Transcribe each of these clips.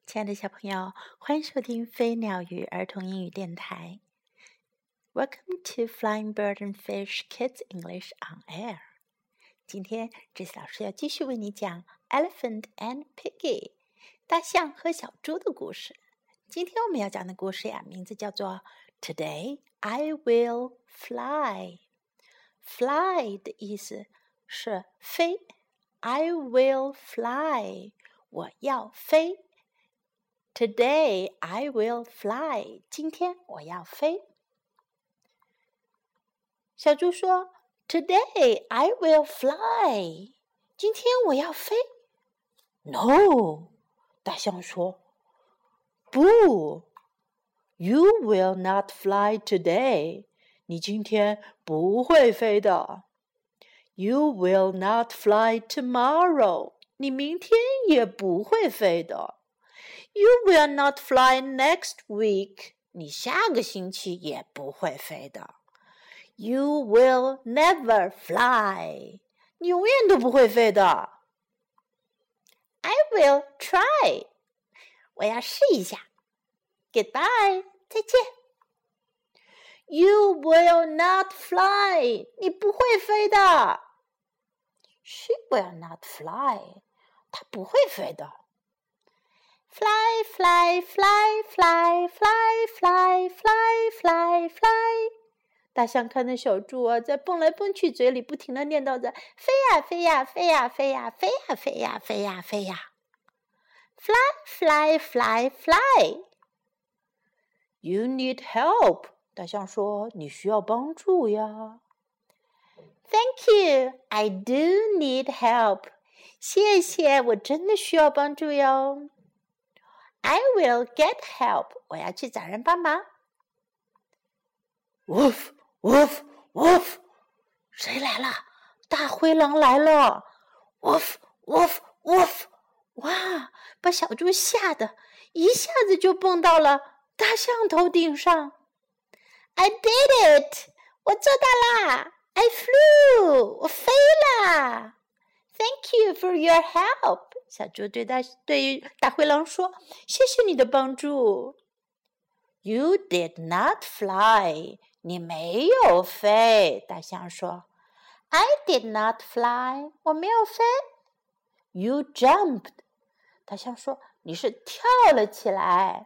亲爱的小朋友，欢迎收听飞鸟鱼儿童英语电台。Welcome to Flying Bird and Fish Kids English on Air. 今天这次老师要继续为你讲 Elephant and Piggy 大象和小猪的故事。今天我们要讲的故事呀，名字叫做 Today I will fly. Fly 的意思是飞。I will fly. 我要飞。Today I will fly. 今天我要飞。小猪说 Today I will fly. 今天我要飞。No. 大象说不 You will not fly today. 你今天不会飞的。You will not fly tomorrow. 你明天也不会飞的。You will not fly next week. 你下个星期也不会飞的。You will never fly. 你永远都不会飞的。I will try. 我要试一下。Goodbye. 再见。You will not fly. 你不会飞的。She will not fly. 她不会飞的。Fly, fly, fly, fly, fly, fly, fly, fly, fly. 大象看着小猪啊，在蹦来蹦去，嘴里不停地念叨着飞呀飞呀飞呀飞呀飞呀飞呀飞呀飞呀。Fly, fly, fly, fly. You need help. 大象说：“你需要帮助呀。” Thank you. I do need help. 谢谢，我真的需要帮助哟。I will get help. 我要去找人帮忙。Woof, woof, woof. 谁来了？大灰狼来了。Woof, woof, woof. 哇，把小猪吓得一下子就蹦到了大象头顶上。I did it. 我做到啦。I flew. 我飞啦。Thank you for your help. 小猪对大灰狼说：“谢谢你的帮助。” You did not fly. 你没有飞。大象说 ：“I did not fly. 我没有飞。” You jumped. 大象说：“你是跳了起来。”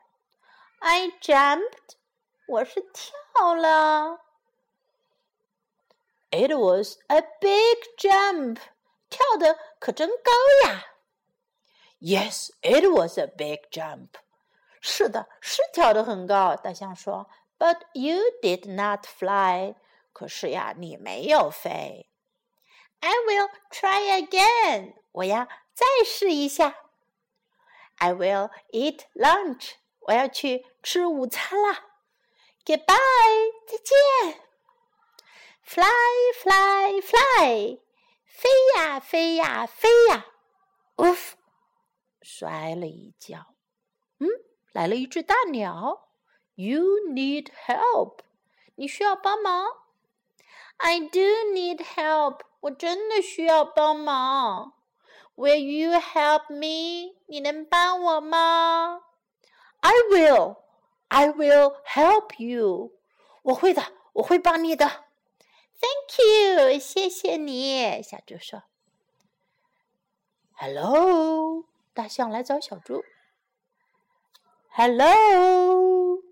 I jumped. 我是跳了。It was a big jump. 跳得可真高呀。Yes, it was a big jump. 是的，是跳得很高。大象说 But you did not fly. 可是呀，你没有飞。I will try again. 我要再试一下。I will eat lunch. 我要去吃午餐啦。Goodbye. 再见。Fly, fly, fly. 飞呀飞呀飞呀。Oof. 摔了一跤。来了一只大鸟。You need help. 你需要帮忙。I do need help. 我真的需要帮忙。Will you help me? 你能帮我吗？ I will. I will help you. 我会的，我会帮你的。Thank you. 谢谢你。小猪说。Hello. 大象来找小猪。Hello.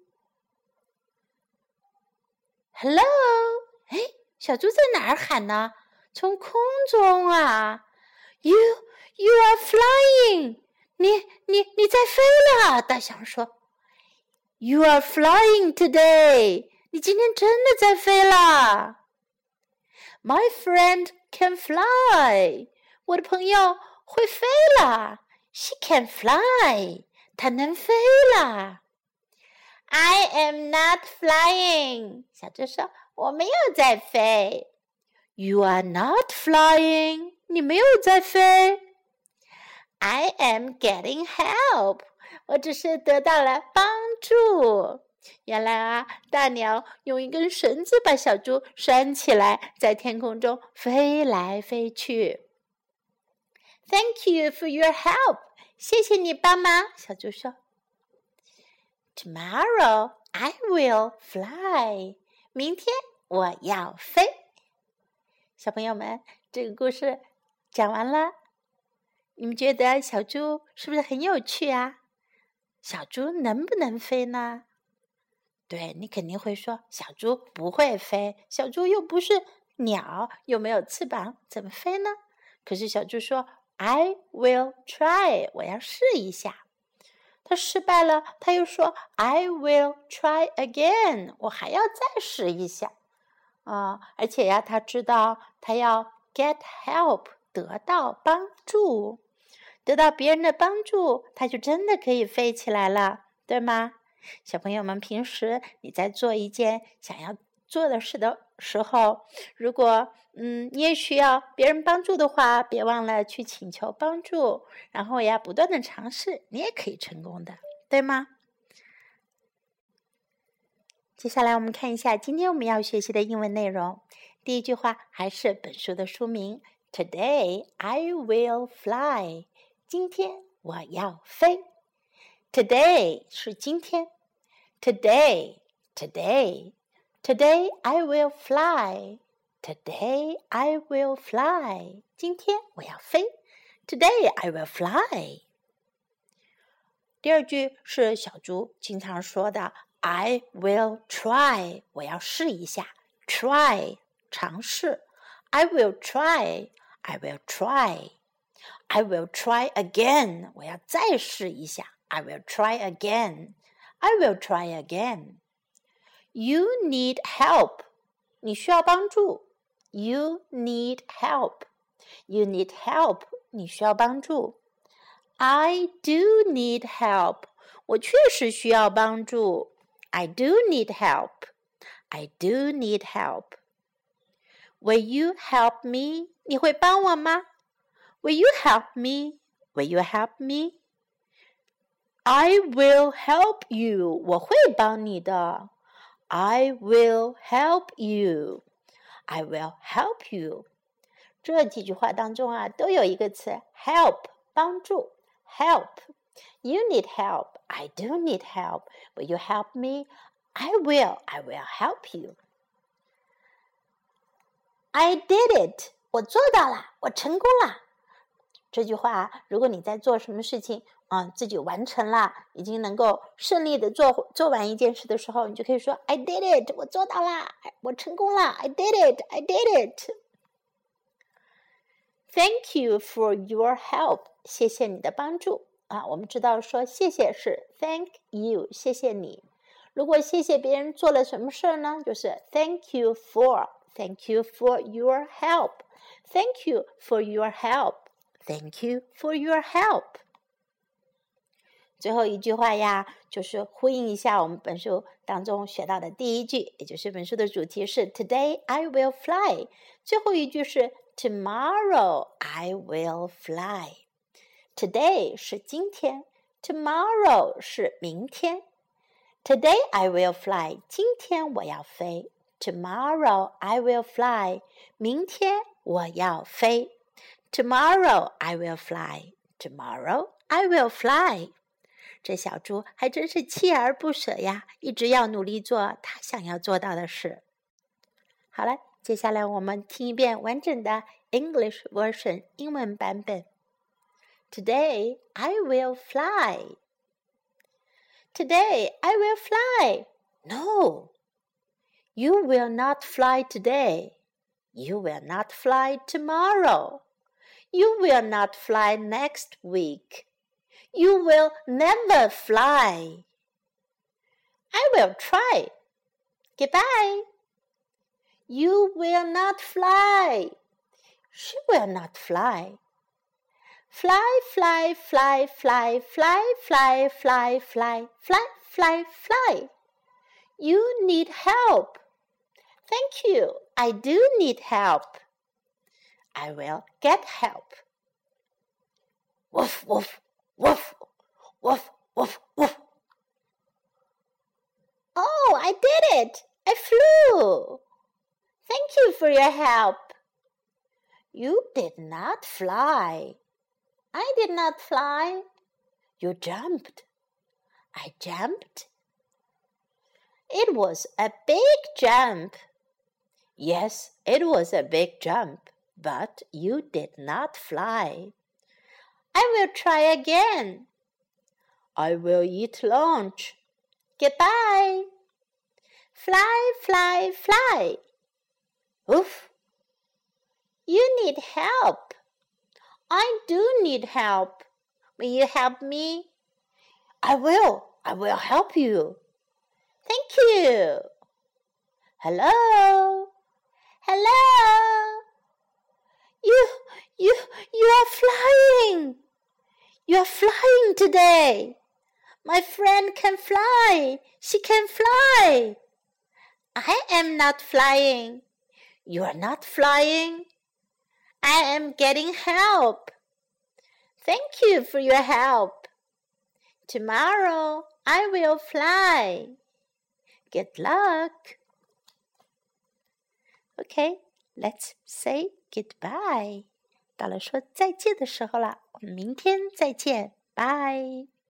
Hello. 哎，小猪在哪儿喊呢？从空中啊。You are flying. 你在飞了。大象说。You are flying today. 你今天真的在飞了。My friend can fly. 我的朋友会飞了。She can fly. 她能飞了。I am not flying. 小猪说，我没有在飞。You are not flying. 你没有在飞。I am getting help. 我只是得到了帮助。原来啊，大鸟用一根绳子把小猪拴起来，在天空中飞来飞去。Thank you for your help. 谢谢你帮忙，小猪说。Tomorrow I will fly. 明天我要飞。小朋友们，这个故事讲完了，你们觉得小猪是不是很有趣啊？小猪能不能飞呢？对，你肯定会说，小猪不会飞，小猪又不是鸟，又没有翅膀，怎么飞呢？可是小猪说 I will try. 我要试一下。他失败了，他又说 I will try again. 我还要再试一下。而且呀，他知道他要 get help. 得到帮助，得到别人的帮助，他就真的可以飞起来了，对吗？小朋友们，平时你在做一件想要做的事的时候，如果你也需要别人帮助的话，别忘了去请求帮助，然后呀不断的尝试，你也可以成功的，对吗？接下来我们看一下今天我们要学习的英文内容。第一句话还是本书的书名 Today I will fly. 今天我要飞。Today 是今天。Today I will fly. Today I will fly. 今天我要飞。Today I will fly. 第二句是小猪经常说的 I will try. 我要试一下。Try 尝试。I will try. I will try. I will try again. 我要再试一下。I will try again. I will try again. You need help. 你需要帮助。You need help. You need help. 你需要帮助。I do need help. 我确实需要帮助。I do need help. I do need help. Will you help me? 你会帮我吗？ Will you help me? Will you help me? I will help you. 我会帮你的。I will help you. I will help you. 这几句话当中都有一个词 help 帮助 help. You need help. I do need help. Will you help me? I will help you. I did it. 我做到了，我成功了。这句话如果你在做什么事情自己完成了，已经能够顺利的做完一件事的时候，你就可以说 I did it. 我做到了，我成功了。I did it. I did it. Thank you for your help. 谢谢你的帮助我们知道说谢谢是 thank you. 谢谢你。如果谢谢别人做了什么事呢，就是 thank you for. Thank you for your help. Thank you for your help. Thank you for your help. 最后一句话呀，就是呼应一下我们本书当中学到的第一句，也就是本书的主题是 Today I will fly. 最后一句是 Tomorrow I will fly. Today 是今天 Tomorrow 是明天 Today I will fly. 今天我要飞 Tomorrow I will fly. 明天我要飞 Tomorrow I will fly. Tomorrow I will fly. 这小猪还真是锲而不舍呀，一直要努力做他想要做到的事。好了，接下来我们听一遍完整的 English version 英文版本。Today I will fly. Today I will fly. No, you will not fly today. You will not fly tomorrow. You will not fly next week.You will never fly. I will try. Goodbye. You will not fly. She will not fly. Fly, fly, fly, fly, fly, fly, fly, fly, fly, fly, fly. You need help. Thank you. I do need help. I will get help. Woof, woof.Woof, woof, woof, woof. Oh, I did it! I flew! Thank you for your help. You did not fly. I did not fly. You jumped. I jumped. It was a big jump. Yes, it was a big jump, but you did not fly. I will try again. I will eat lunch. Goodbye. Fly, fly, fly. Oof. You need help. I do need help. Will you help me? I will help you. Thank you. Hello. Hello. You are flying. You are flying today. My friend can fly. She can fly. I am not flying. You are not flying. I am getting help. Thank you for your help. Tomorrow I will fly. Good luck. Okay, let's say goodbye. 到了说再见的时候了，我们明天再见，拜。